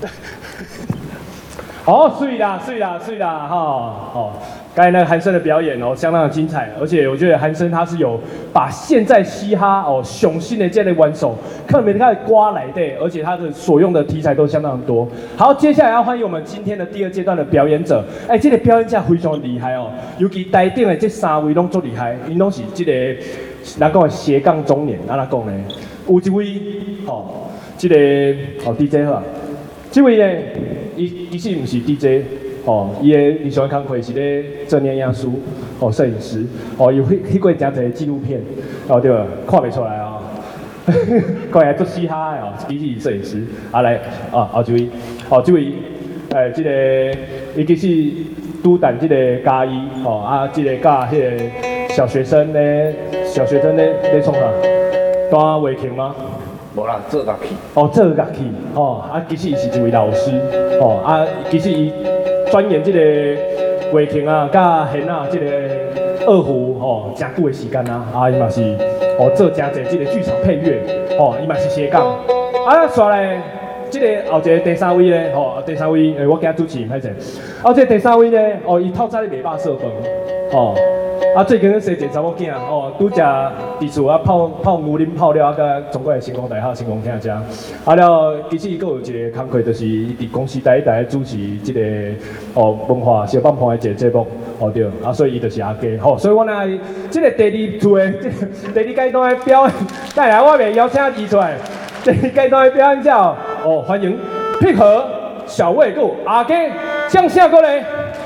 好，水啦，哈，哦，剛才那個韓生的表演哦，相當的精彩，而且我覺得韓生他是有把現在嘻哈哦雄性的這類玩手，特別開始刮來的，而且他的所用的題材都相當多。好，接下來要歡迎我們今天的第二階段的表演者，這個表演者非常厲害哦，尤其台頂的這三位攏足厲害，因攏是這個人講的斜槓中年，安怎講呢？有一位哦，這個DJ 好。這位呢，伊其實不是 DJ， 哦，伊的理想工作是咧做影影師，哦，攝影師，哦，有翕過真儕紀錄片，哦對吧？看袂出來啊、哦，看起來做嘻哈的哦，其實是攝影師。啊來，後一位，這位，這個伊其實拄淡這個嘉義，哦，這個教迄個小學生咧創啥？彈圍琴嗎？ 無啦，做樂器。 哦，做樂器，哦，其實伊是一位老師，哦，其實伊鑽研這個圍琴啊、甲弦啊，這個二胡，哦，真久的時間啊，伊嘛是，哦，做真儕這個劇場配樂，哦，伊嘛是斜槓。煞來，這個後一個第三位咧，哦，第三位，我今主持人歹勢，這個第三位咧，哦，伊透早咧袂飽色飯，哦。最近咧生一個查某囝，哦，拄食佇厝泡牛奶泡了，甲中國的成功大學成功聽食。了，其實伊佫有一個工課，就是伊佇公司台主持這個文化小幫派的一個節目，對，所以伊就是阿家，所以我來這個第二次的第二階段的表演，帶來我袂邀請伊出來，第二階段的表演者，歡迎配合小魏佫阿家向下過來。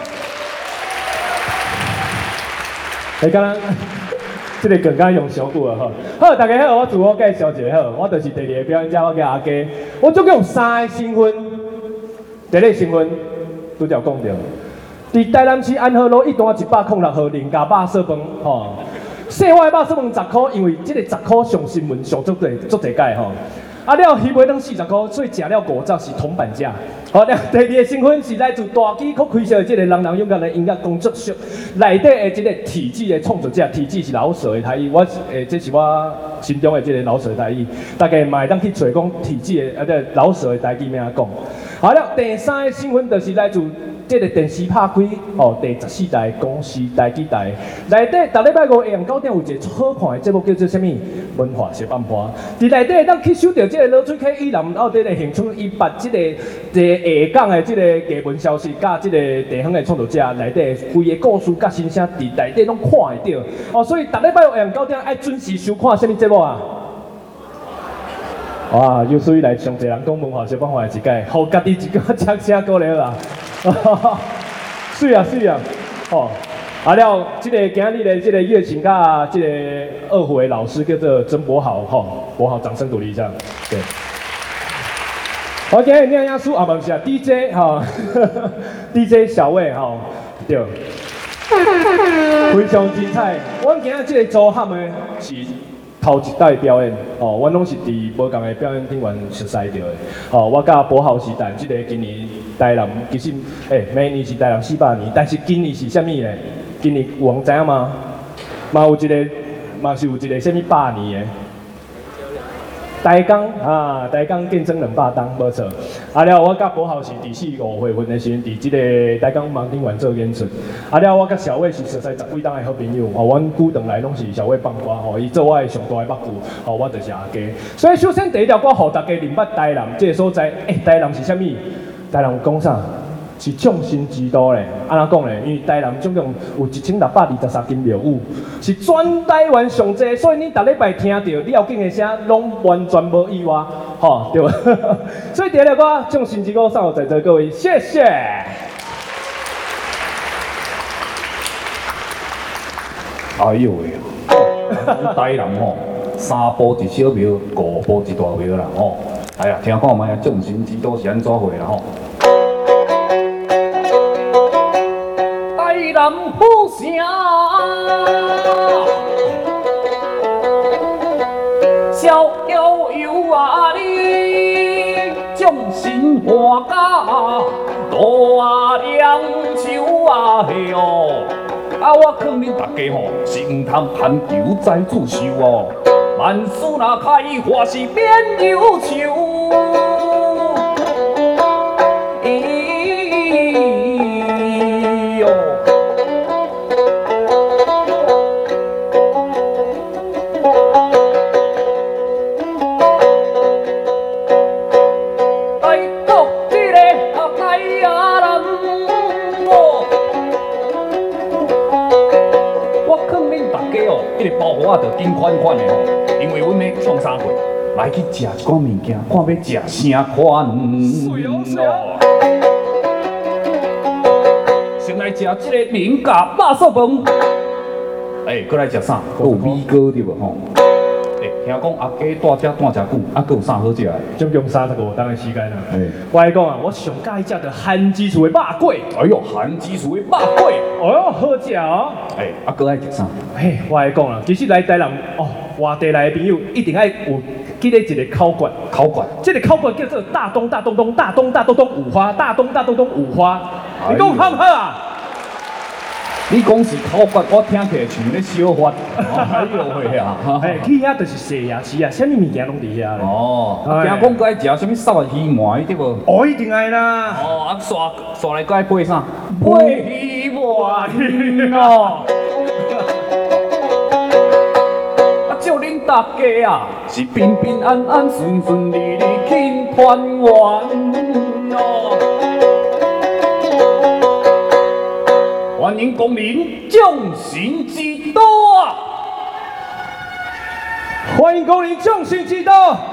剛剛這個梗剛用小久了哈。好，大家好，我自我介紹一下好，我就是第二個表演者，我叫阿家。我總共有3個身份，第一個身份拄則講到，佇台南市安和路1段106號林家肉色飯吼，細碗的肉色飯10塊，因為這個10塊上新聞上足濟屆吼。了魚尾當40塊，所以食了5十是銅板價。好，了第二個身份是來自大機構開設的這個人人勇敢的音樂工作室內底的這個體制的創作者，體制是老舍的台語，這是我心中的這個老舍的台語，大家嘛會當去找講體制的老舍的台語咩講。好了，第三個身份就是來自這個電視拍開第14台公視台記台，內底逐禮拜5下午9點有一個好看的節目叫做什麼文化小半盤，佇內底當去收到這個羅水溪以南奧地利鄉村伊把這個下港的這個藝文消息，甲這個地方的創作者內底規個故事甲心聲，佇內底攏看會到。所以逐禮拜5下午9點愛準時收看什麼節目啊？哇，有屬於來上濟人講文化小半盤的一屆，互家己一個掌聲鼓勵啦！水啊，了，這個今日的這個樂琴甲這個二胡的老師叫做曾博豪，博豪，掌聲鼓勵一下，對。好，今日亮師不是啊 ，DJ DJ 小魏對，非常精彩。我今日這個組合的是頭一代表演，我攏是佇無共的表演廳員熟悉到的。我甲博豪是但這個今年台南其實每年是台南400年，但是今年是啥物呢？今年有人知影嗎？嘛是有一個啥物100年的。台江見證200檔，無錯。了，我甲博豪是第4、5月份的時陣，佇這個台江網頂園做演出。了，我甲小魏是熟悉10幾檔的好朋友。阮久長來攏是小魏放歌，伊做我的上大的目睭，我就是阿家。所以首先第一條歌，互大家認捌台南這個所在。台南是啥物？台南講啥？是創新之都咧，安怎講咧？因為台南總共有1623間廟宇，是全台灣上濟，所以你逐禮拜聽到了境的聲，攏完全無意外，對吧？所以第二條歌創新之歌送給在座各位，謝謝。 哎呦喂，台南3步一小廟，5步一大廟啦哎呀，聽看賣啊，創新之都是安怎回啦台南好城，逍遙遊啊你，眾神歡甲，大梁樹啊嘿哦，我勸恁大家是毋通攀求栽子樹哦，萬事若開花是免憂愁。 我着緊款款的吼，因為阮要創啥貨，來去食一寡物件，看要食啥款咯。先來食這個名家肉燥飯，擱來食啥？擱有米糕對無吼？聽講阿家住遮住久，擱有啥好食？ 總共35當的時間啦。我來講啊，我上喜歡食的韓之厝的肉粿。 哎呦，韓之厝的肉粿， 哦喲，好食哦。 擱愛食啥？ 我來講啊，其實來台南哦，外地來的朋友一定愛有記得一個烤館。烤館，這個烤館叫做大東五花，大東五花。你講好唔好啊？ 你講是烤骨，我聽起來像咧小法。哎呦喂啊！ 去遐就是西夜市啊，啥物物件攏佇遐咧。 哦，聽講該食啥物燒的魚糜對無？ 哦，一定愛啦。 哦，刷來該配啥？配魚糜哦。祝恁大家啊，是平平安安、順順利利、慶團圓哦。歡迎光臨眾星之都啊！ 歡迎光臨眾星之都。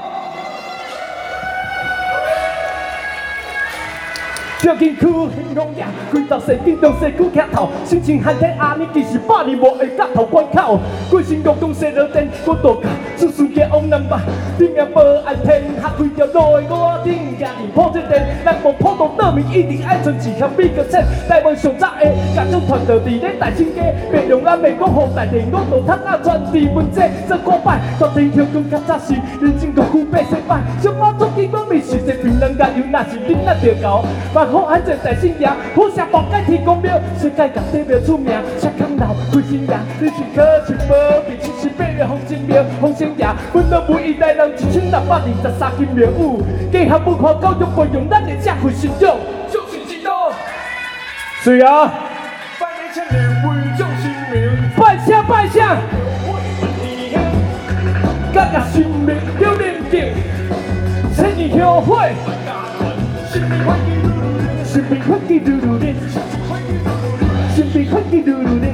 最近去興隆夜，規道細見到細久徛頭，心情寒天阿年其實百年無會角頭關口，規身樂動細落電，我度假，子孫家往南吧，頂命無安天，下開條路的我頂家己破這電，人無普渡倒面一定愛存一項美個錢，台灣上早的家長團就佇咧大清街，別用咱袂講好大地，我度窗仔傳遞文字，做古擺，大天橋更較早是人情國富百姓擺，小貓總經我咪是一平人家有那是恁那着搞。好安全在信仰，好聲無改天公廟，世界各地廟出名，赤康樓開新營，你是可親無比，78月紅金廟，紅星爺，阮都每一代人1623斤廟有，結合文化教育培養咱的社會信仰。眾星之都，是啊，百年前的為眾新名，拜聲拜聲，家家新名有人敬，千年後悔，新名歡喜。新兵歡喜嚕嚕哩，新兵歡喜嚕嚕哩，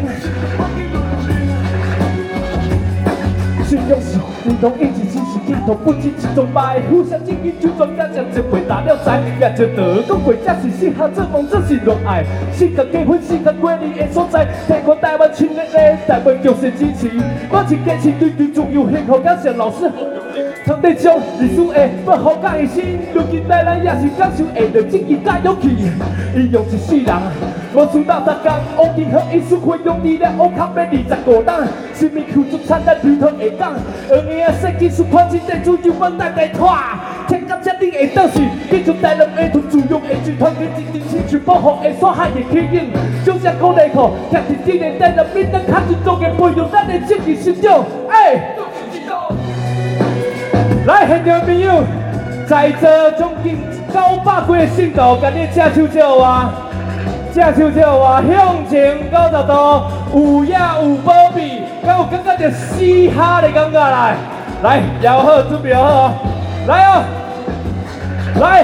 信用是認同一起真是認同，不僅是崇拜，互相敬意就專家將這回答了財，也就得講過這是適合做夢，這是熱愛，適合結婚，適合過年的所在，聽過台灣親熱的台灣就是支持，我是堅持對對重要幸福感謝老師。常在將歷史的不好甲的心，如今台南也是感受下着正義甲勇氣，伊用一世人，無輸到10天，烏金和藝術會用力量，烏卡要25人，生命付出產咱流通會講，20個世紀是環境在主要問咱來拖，天甲這裡的倒是，記住台南的土自用的集團，跟真正興趣保護的所害的起因，就像鼓勵課，貼近這個台南民人較尊重的培養咱的正義信仰，來，現場朋友，在座總共900幾個信徒，甲你隻手借我，隻手借我，向前90度，有野有保庇，敢有感覺到嘻哈的感覺來，來，搖好，準備好，來哦，來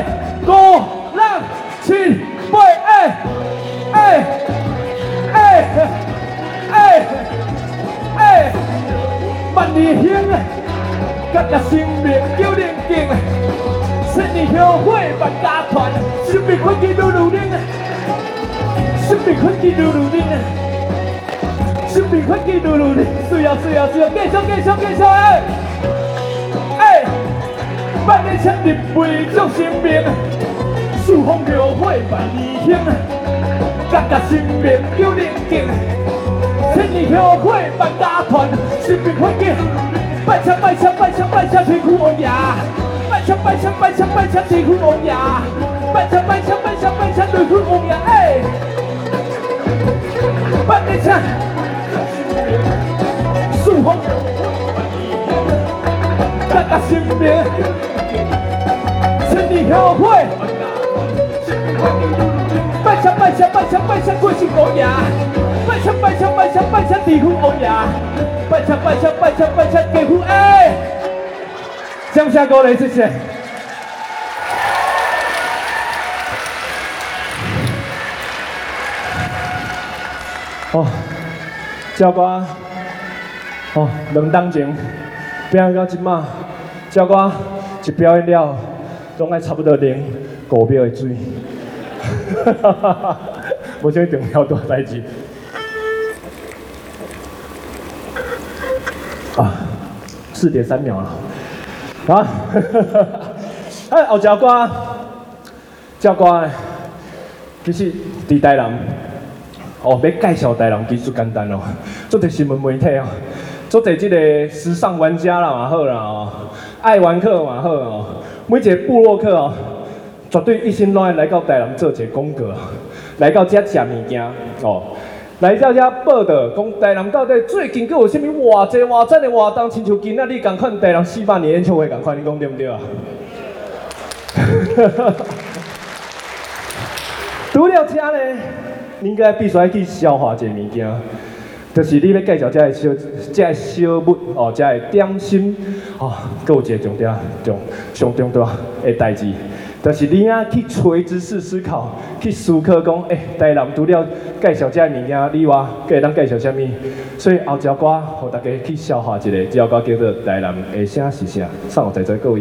，5、6、7、8，萬里香啊！家家生命有人敬，千年後悔萬家團，生命歡喜嚕嚕靈，生命歡喜嚕嚕靈，生命歡喜嚕嚕靈，水啊水啊水啊，繼續萬年前立為眾生命，數風流火萬里香，家家生命有人敬，千年後悔萬家團，生命歡喜。拜槍天父王爺，拜槍天父王爺，拜槍天父王爺，拜你槍，數風，大家心命，千年後悔，拜槍貴姓王爺，拜槍天父王爺。拜槍，給父掌聲鼓勵，謝謝。哦，教官， 哦，2當前表演到即馬，照我一表演了，總愛差不多淋5秒的水，無啥重要大代志。啊，4.3秒了，啊，哎，後一首歌，這首歌其實佇台南，哦，要介紹台南其實簡單哦，做者新聞媒體哦，做者這個時尚玩家啦嘛好啦哦，愛玩客嘛好哦，每一個部落客哦，絕對一心攏愛來到台南做一個廣告，來到這食物件哦。來到這報道，講台南到底最近佫有啥物偌濟偌讚的活動，親像今仔日共款台南400年演唱會共款，你講對不對啊？除了這呢，你應該必須要去消化一個物件，就是你要介紹這個小物哦，這個點心哦，佫有一個重點上重大的代誌。就是你啊去垂直式思考，去思考講，台南除了介紹這物件以外，佫會當介紹啥物？所以後一首歌，互大家去消化一下，這首歌叫做《台南的啥是啥》，送互在座各位。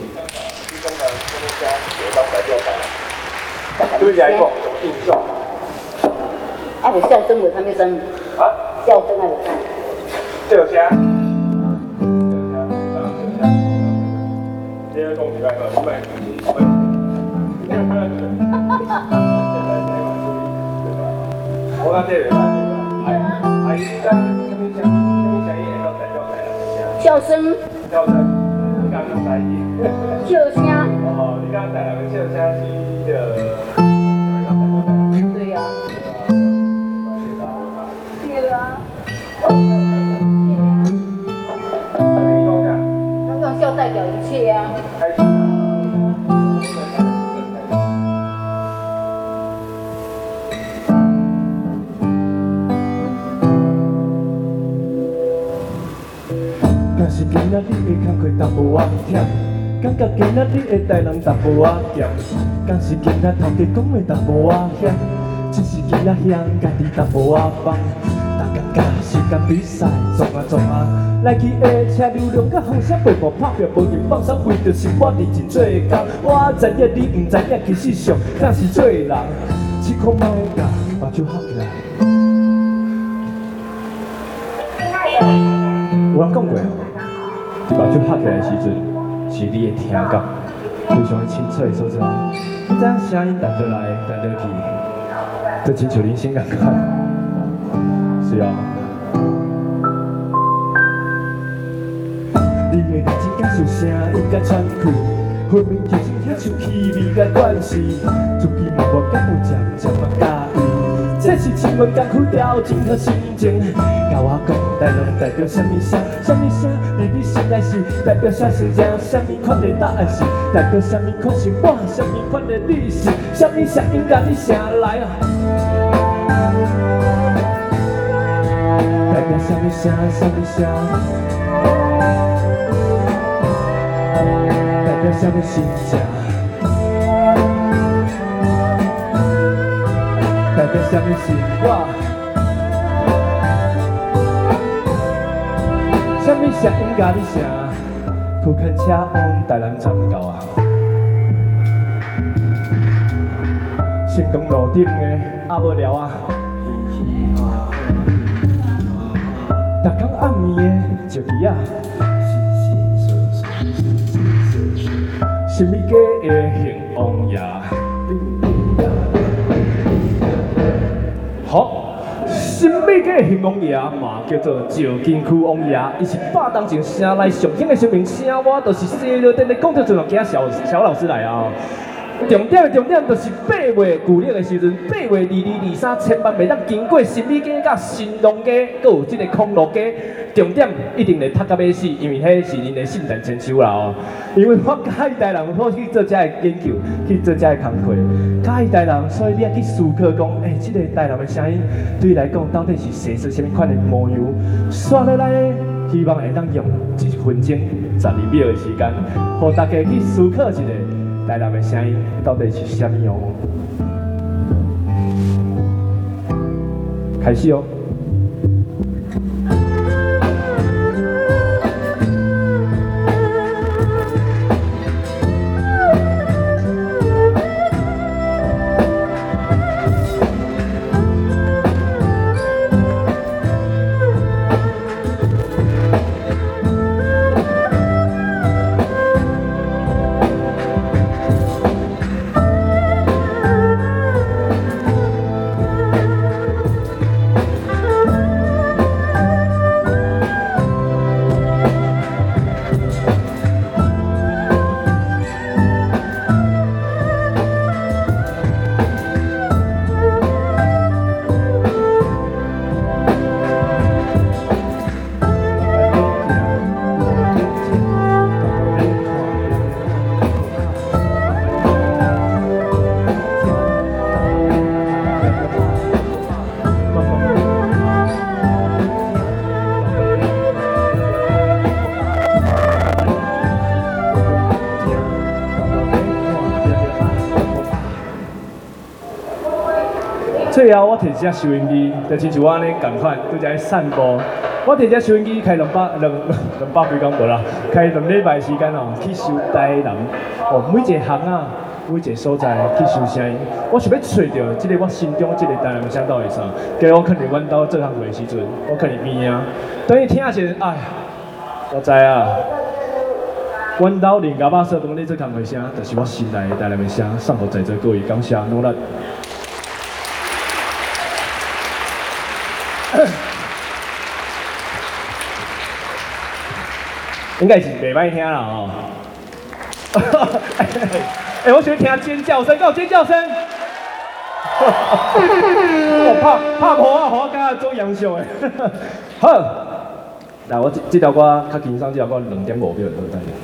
對來講，有印象。 啊，有笑聲，有啥物聲？ 啊？ 笑聲還有啥？ 笑聲。第二種禮拜二，禮拜一。我講這個，阿姨在什麼聲音會代表台南的聲？ 笑聲。 笑聲，你講用台語。 笑聲。 哦，你講台南的笑聲是叫。 對呀。對啊。剛剛笑代表一切啊。若是今仔日的工課淡薄仔忝，感覺今仔日的台南淡薄仔鹹，敢是今仔頭家講的淡薄仔險，只是今仔鄉家己淡薄仔放，大家甲時間比賽撞啊，來去的車流量甲風聲背部拍拼無人放鬆，為着是我認真做工，我知影你毋知影，其實上敢是做人，試看莫甲目睭合起來。有人講過。目睭拍起來的時陣，是你的聽覺非常的清脆的所在。你知影聲音彈倒來，彈倒去，就親像人生共款。是啊。你的認真感受聲音甲喘氣，分明就是遐像氣味甲關係。自己默默感有漸嘛介意，這是新聞工區調整好心情。甲我講，台南代表啥物聲？啥物聲？你心內是代表啥心情？啥物款的答案是代表啥物款是我？啥物款的你是？啥物聲音甲你聲來啊？代表啥物聲？啥物聲？代表啥物心情？代表啥物是我？啥物聲音甲你聲？區間車往台南站到啊！成功路頂的阿無聊啊！逐工暗暝的石魚啊！什物家的興旺夜？好。新美嘅興旺夜嘛，叫做石金區旺夜，伊是100當前城內上興的新名聲，我就是西螺店的工作人員請小老師來啊。重點就是8月舊曆的時陣，8月22、23，千萬袂當經過新美街、甲新隆街，閣有這個康樂街。重點一定得讀到尾死，因為迄是恁的聖誕千秋啦哦。因為我介意台南，我去做這個研究，去做這個工課，介意台南，所以你要去思考講，這個台南的聲音對你來講到底是寫出什麼款的模樣？刷落來呢，希望會當用1分鐘12秒的時間，讓大家去思考一下台南的聲音到底是什麼樣。開始哦。 最後我摕一隻收音機，就親像我安尼共款，拄則散步。我摕隻收音機開兩百幾工無啦，開2禮拜時間哦，去收台南哦，每一個巷啊，每一個所在去收聲音。我想要找到即個我心中即個台南聲到底啥？今日我可能阮兜做項目的時陣，我可能邊啊，等於聽一下，哎，我知啊。阮兜連家巴說當你做項目聲，就是我心內的台南的聲，送互在座各位，感謝努力。應該是袂歹聽啦哦。我喜歡聽尖叫聲，給我尖叫聲。我怕婆啊，我剛剛做楊秀誒。好，來我這條歌較輕鬆，這條歌2.5秒就等於。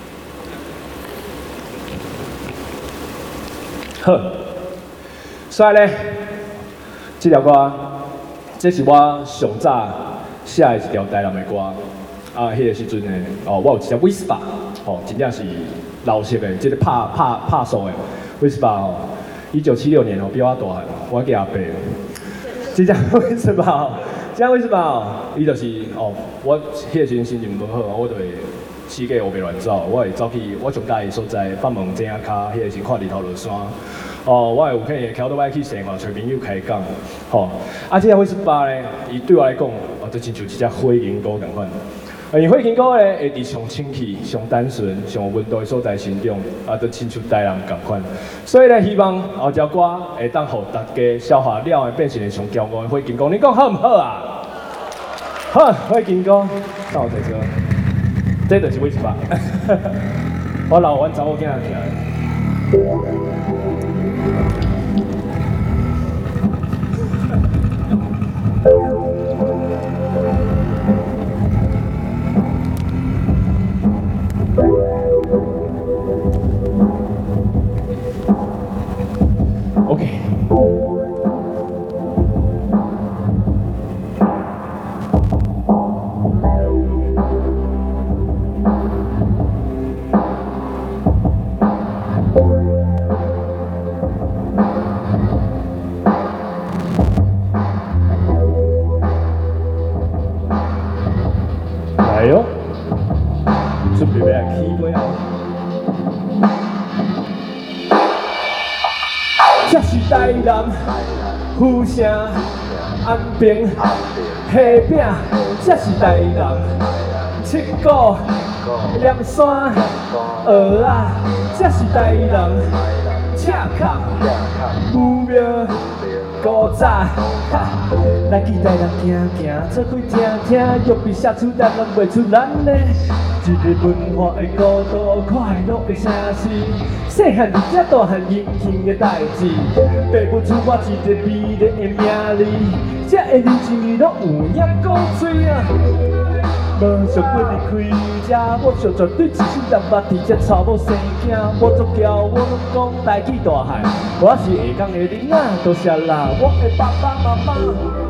好，所以咧，這條歌，這是我上早寫的一條台南的歌。啊，迄個時陣呢，哦，我有一隻 Whisper， 哦，真正是老式的，即個拍數的 Whisper 哦，1976年哦，比我大漢，我叫阿伯。這隻 Whisper 哦，這隻 Whisper 哦，伊就是哦，我迄個時陣心情無好，我就會四界烏白亂走，我會走去我上家的所在，放門井仔骹，迄個時看日頭落山。哦，我有可能會翹倒擺去生活，找朋友開講，吼。啊，這隻 Whisper 呢，伊對我來講，哦，就親像一隻火螢菇共款。因火螢菇咧，會佇上清氣、上單純、上溫度的所在心中，啊，都親像台南共款。所以咧，希望後隻歌會當互大家消化了，變成上驕傲的火螢菇。你講好唔好啊？好，火螢菇，到在這，這就是Whisper。我老阮查某囝聽。OK。來喲，準備要起飛啊！這是台南府城安平蝦餅，這是台南七股連山蚵仔，這是台南赤崁武廟古早。來去台南行行，做伙聽聽，欲比寫出咱人袂出咱的一個文化的孤獨快樂的城市。細漢佇遮大漢英雄的代志，爸母賜我一個美麗的名字，這個人生攏有影古錐啊。無想過離開這，我想絕對一心人目佇這草某生囝，我足驕我攏講大起大漢，我是下港的囡仔，多謝啦，我的爸爸媽媽。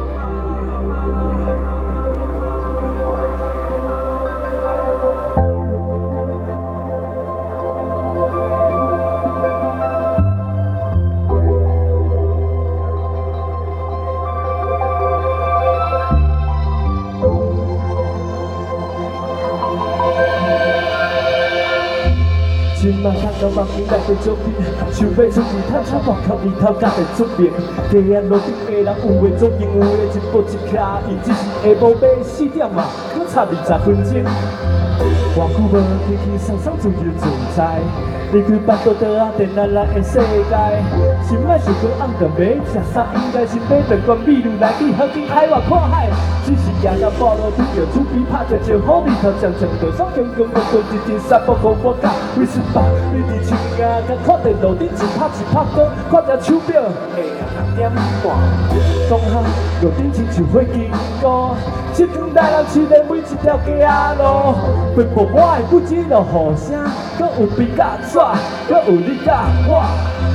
今嘛看到網友來個作品，想要出去探查外口日頭才會出名。地安路頂的人有的做任務的一步一卡，伊只是下晡買4點嘛，可差20分鐘。偌久無輕輕鬆鬆自由自在，離開巴肚倒啊，電腦內的世界。心愛想講暗頓要食啥，應該是買兩罐米露來去好景海外看海。只是行到半路拄着厝邊拍一招好日頭，常常就爽強強，我過一陣三步互我教。為什麼你佇厝邊甲看電腦頂一拍鼓，看隻手錶下6點半，講下路頂親像火螢菇，這趟台南市的每一條街仔路，奔波我的不止落雨聲，閣有比較紙，閣有你甲我。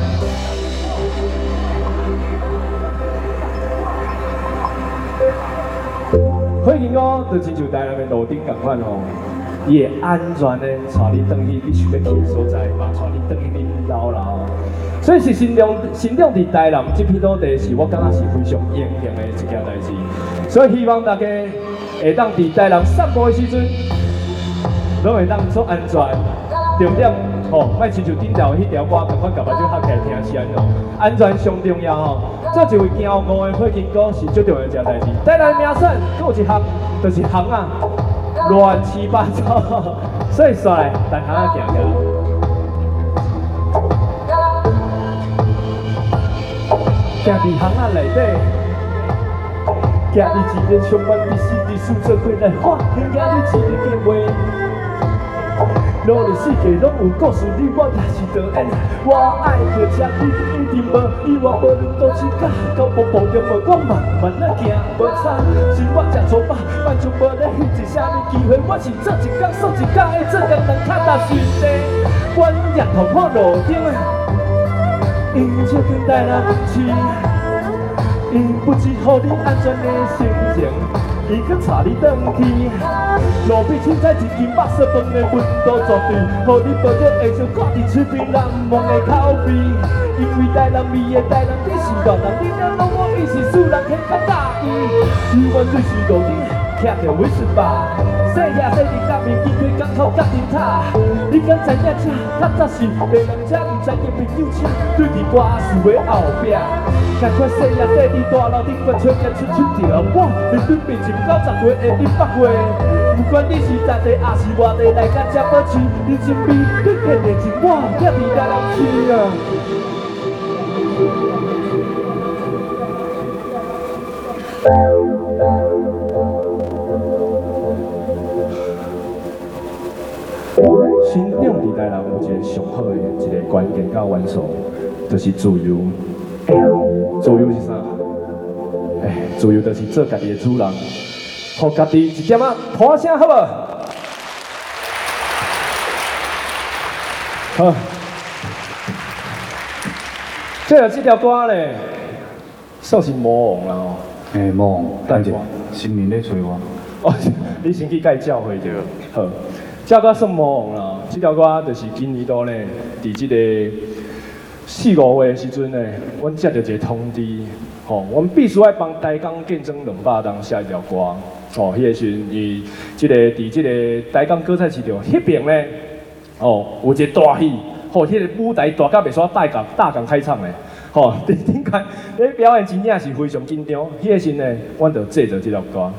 火螢菇就親像台南的路頂共款吼，伊會安全的帶你轉去你想要去的所在，嘛帶你轉去恁姥姥。 所以是新疆佇台南這片土地，是我感覺是非常榮幸的一件代志。所以希望大家會當佇台南散步的時陣，攏會當做安全。重點哦，莫親像頂條迄條歌，趕快甲目睭合起來聽是安怎？安全上重要哦。做一位驕傲的火金哥是最重要一件代志。台南名產，佫有一項就是巷啊，亂七八糟，所以煞來逐巷仔行行。行佇巷仔內底，行佇一個充滿歷史的數字會來發現你一個計劃。努力世界攏有故事，你我也是導演。我愛着這你一定無意外，無論都市角到步步中無，我慢慢仔行，無差。生活真粗暴，萬種無咧翕一啥物機會，我是做一工算一工的，做工人較踏實地。阮日頭看路頂的，因這間台南市，因不只予你安全的心情。伊閣帶你轉去，路邊凊彩一斤肉色飯的溫度絕對，予你抱着會想掛佇嘴邊難忘的口味。因為台南味的台南地是大人，你若攏我伊是素人，很較大意。台灣水是路頂，徛着威士吧，細遐細日甲面見對港口甲燈塔。你敢知影這較早是別人車，毋知影朋友車，對佇歌詞的後壁。趕快細呀細佇大樓頂懸出現出條，我面對面前90歲的100歲，不管你是在地還是外地，來甲這保持你身邊對天的情，我也佇台南市啊。新疆佇台南有一個上好的一個關鍵甲元素，就是自由。自由是啥？自由就是做家己的主人，互家己一點仔喊聲好無？好，這條歌咧，算是魔王啦吼。 魔王，等者，新年咧找我。 哦，你先去介教會着。好，這歌算魔王啦。這條歌就是今年度咧，佇這個4、5月的時陣呢，阮接到一個通知，阮必須要幫台江見證200檔寫一條歌。迄個時陣，伊佇這個台江歌菜市場迄邊呢，有一個大戲，迄個舞台大甲袂煞大港開唱的，頂間迄表演真正是非常緊張。迄個時陣呢，阮就製作這條歌。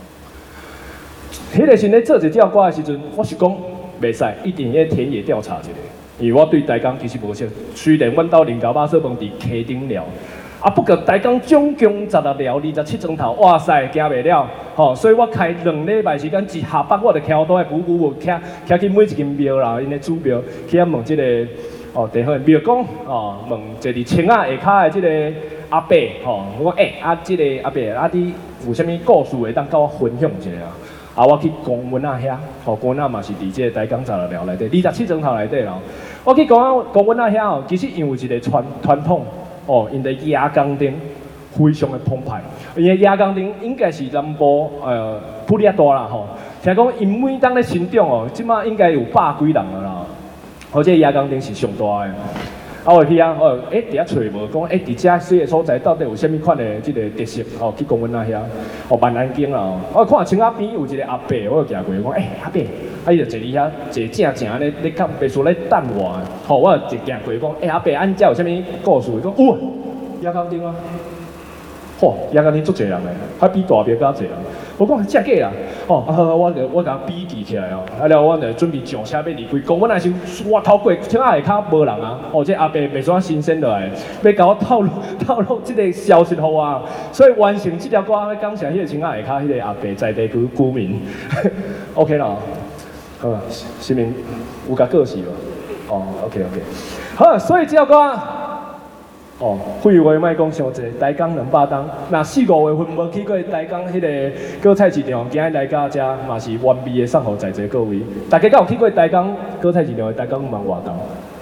迄個時陣咧做這條歌的時陣，我是講袂使，一定要田野調查一下。因為我對台江其實無熟，雖然阮兜林家肉燥飯佇溪頂寮，不過台江總共16寮27磚頭，哇塞，行袂了，所以我開2禮拜時間，一下班我就徛倒來鼓徛去每一間廟啦，因個祖廟去遐問這個地方的廟公，問坐佇青仔下骹的這個阿伯，我講這個阿伯你有啥物故事會當甲我分享一下啊？我去公園仔遐，公園仔嘛是佇這個台江16寮內底，27磚頭內底啦。我去公園仔遐其實因為一個傳統，因的夜工程非常的澎湃。因的夜工程應該是南部普利亞大啦吼。聽講因每當咧成長即馬應該有100幾人了啦。這個夜工程是上大的。我去啊，佇遐找無，講佇遮小個所在到底有啥物款的這個特色？去公園仔遐，蠻安靜啦。我看青仔邊有一個阿伯，我就行過，講阿伯，伊就坐佇遐，坐正咧較別墅咧等我。我就行過，講阿伯，安遮有啥物故事？伊講有啊，夜工程啊。夜工程足濟人誒，還比大廟較濟人。我講真假啦，我甲比記起來哦，然後我就準備上車要離開。公園仔時我透過青仔下骹無人啊，這阿伯袂煞新鮮落來，要甲我透露這個消息予我，所以完成這條歌，要感謝迄個青仔下骹迄個阿伯在地居民。OK 啦，好，是名有甲過是無？OK， 好，所以這條歌。廢話莫講傷濟，台江200檔，若4、5月份無去過台江迄個果菜市場，今日來到遮嘛是完美的送予在座各位。大家敢有去過台江果菜市場的台江5萬外檔？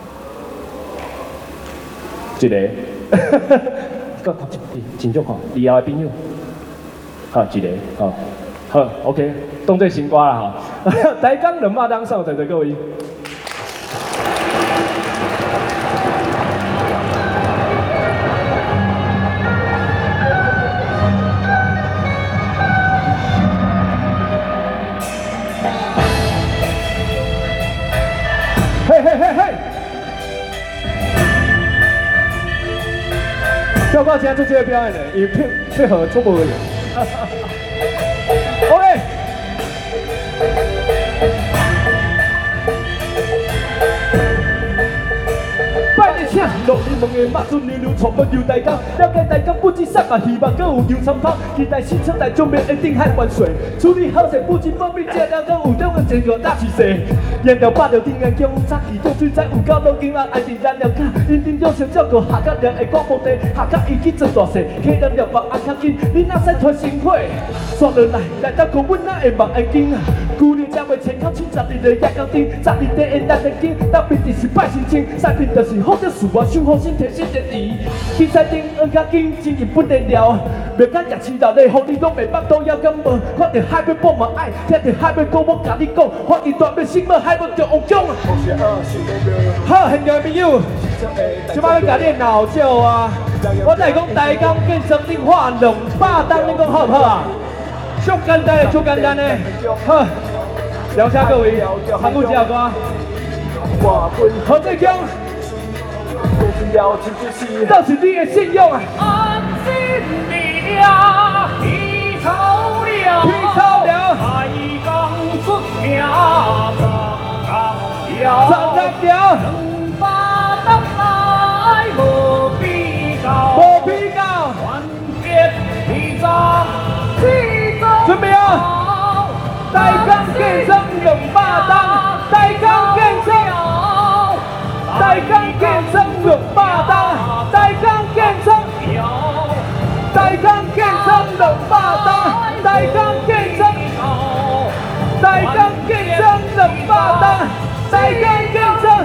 一個，真少看，以後的朋友，一個，好 ，OK， 當作新歌啦台江200檔送予在座各位。 跳到今天做這個表演的，也配合中國而言。OK。請落你問的馬祖牛牛傳播遊大江，了解大江不止山嘛，希望更有遊參跑，期待新生代將面一定海灣水，處理好勢不止保密，這了更有兩個前個大趨勢，沿着八條定安江，早期種水才有夠多金額，愛定燃料卡，認真用心照顧下甲人的廣播地，下甲伊去做大事，客人了目愛較緊，你若使團成伙，刷落來當講阮哪會目會緊啊？舊年才會前口七十二個夜到頂，12地會咱的經，特別就是拜神清，賽品就是好着事我守好身體身體地，比賽頂學較緊，真日不得了，袂甲夜市鬧咧，互你攏袂捌都要敢無？看到海要報嘛愛，聽到海要講，我甲你講，發現大要心要海要着王獎啊！好，現場的朋友，即擺要甲你鬧笑啊！我來講台江建設你花200檔，你講好不好啊？足簡單的，足簡單的，好，聊下各位，參與這首歌。何志強，這是你的信用啊！ 安心了，皮草了， 皮草了， 台江出名长了 ，200檔來無比較， 無比較， 團結皮草。 準備啊！台江建設200檔，台江建設，台江建設200檔，台江建設，台江建設200檔，台江建設，台江建設200檔，台江建設。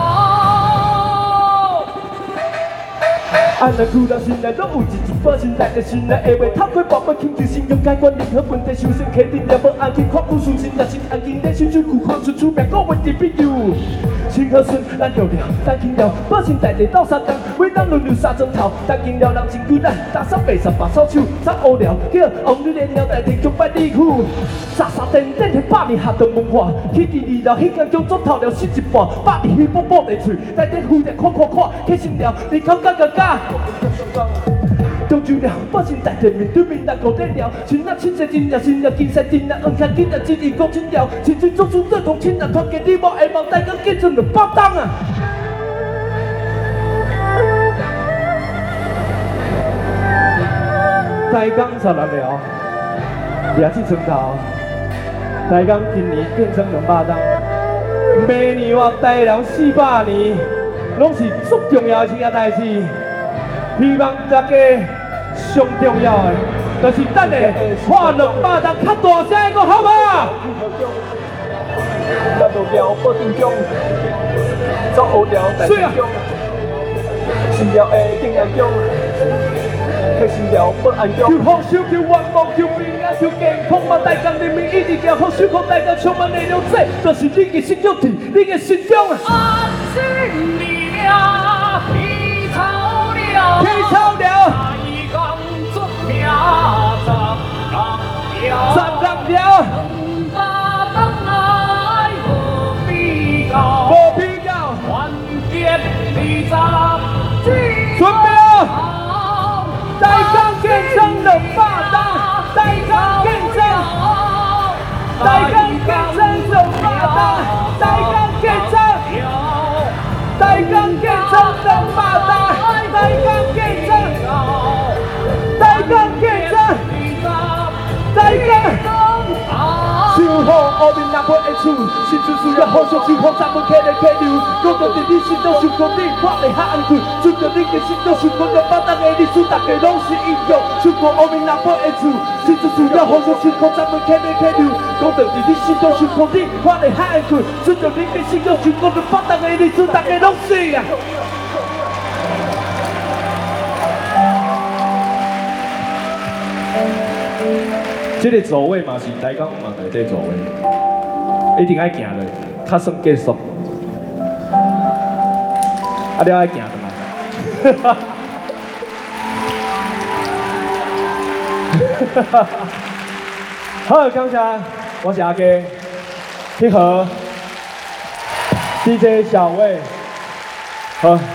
安尼苦到心內，攏有一把心內的心內的話，透過寶貝傾注信用解決任何問題，修身克定了無安全，看不順心，也是安靜的心水苦看出出名，我問題必有。清河順，咱着了，咱緊了，保心大地鬥三工，每當輪流三鐘頭，咱緊了人真久咱，打掃白掃把掃手，咱無聊，叫王女連了代替強拜禮苦。傻傻等等的百年學堂文化，去第二了，迄間將做透了死一半，百年虛寶寶地喙，內底浮着看，起心了，你口角角角。中秋了，保心大地面對面來過得了，親啊親切真了，心了金山真啊，恩下緊啊，真意講真了，青春總是這同親啊，團結你我下望，台江建設200檔啊！台江16了，也是村頭，台江今年建設200檔，明年或台人400年，攏是足重要的一件代志。希望大家上重要的，就是等下花200檔較大聲個，好不好？咱無聊不正宗，做無聊代志中，是了會定安中，迄是了不安中。求福壽，求願望，求平安，求健康嘛！台江人民一直行好，守護台江充滿內容，這就是你的心中體，你的心中啊！安心了，皮草了，皮草了，台江出名站了，200檔來無比較，無比較，團結20準備啊！台江建設200檔，台江建設，台江建設200檔，台江建設，台江建設200檔，台江建設，台江建設，台江。守護烏面南坡的厝，新厝需要互相守護，咱們客人客流，講到佇你心中想講你，我會較安全。順着你的心中想講200檔的歷史，大家攏是英雄。守護烏面南坡的厝，新厝需要互相守護，咱們客人客流，講到佇你心中想講你，我會較安全。順着你的心中想講200檔的歷史，大家攏是啊。這個座位嘛是台江嘛內底座位，一定愛行的，較算結束。啊，你愛行的嘛？好，感謝，我是阿基，配合 DJ 小魏，好。